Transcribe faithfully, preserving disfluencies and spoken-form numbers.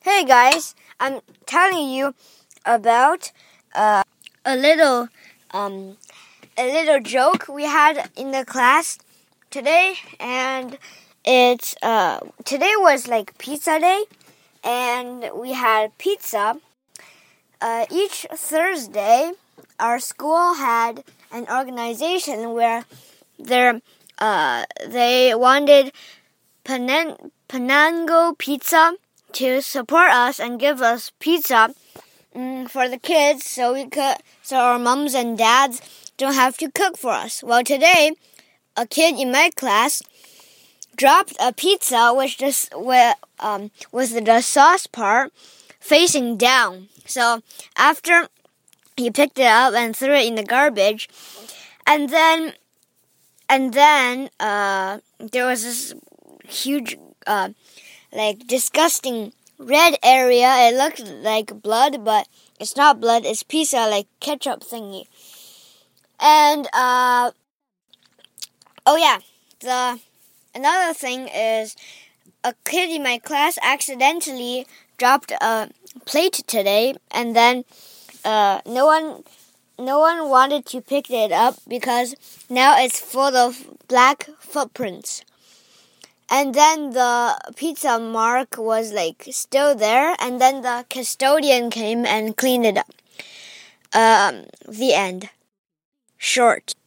Hey guys, I'm telling you about uh, a little um, a little joke we had in the class today, and it's uh, today was like pizza day, and we had pizza. Uh, each Thursday, our school had an organization where they uh, they wanted Panen- Panango Pizza to support us and give us pizza um, for the kids, so we could, so our moms and dads don't have to cook for us. Well, today, a kid in my class dropped a pizza which just with um with the sauce part facing down. So after he picked it up and threw it in the garbage, and then and then uh there was this huge uh like disgusting red area. It looked like blood, but it's not blood, it's pizza, like ketchup thingy. And uh oh yeah, the another thing is a kid in my class accidentally dropped a plate today, and then uh no one no one wanted to pick it up because now it's full of black footprints. And then the pizza mark was like still there, and then the custodian came and cleaned it up. Um, the end. Short.